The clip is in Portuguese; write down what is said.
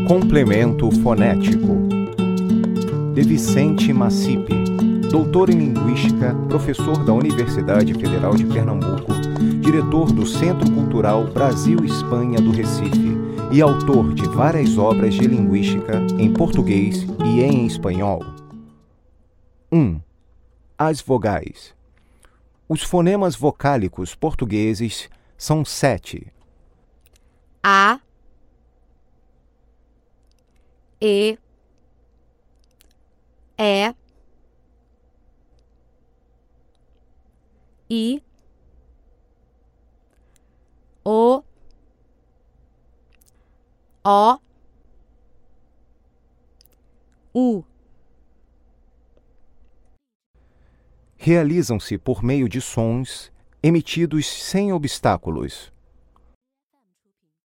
Complemento fonético. De Vicente Macipe, doutor em Linguística, professor da Universidade Federal de Pernambuco, diretor do Centro Cultural Brasil-Espanha do Recife e autor de várias obras de linguística em português e em espanhol. 1. As vogais. Os fonemas vocálicos portugueses são 7. A, E, I, O, U. Realizam-se por meio de sons emitidos sem obstáculos.